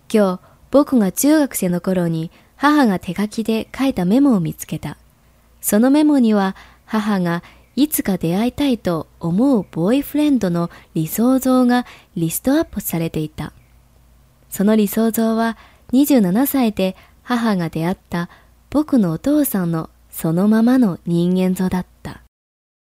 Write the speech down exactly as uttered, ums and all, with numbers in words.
今日、僕が中学生の頃に母が手書きで書いたメモを見つけた。そのメモには母がいつか出会いたいと思うボーイフレンドの理想像がリストアップされていた。その理想像はにじゅうななさいで母が出会った僕のお父さんのそのままの人間像だった。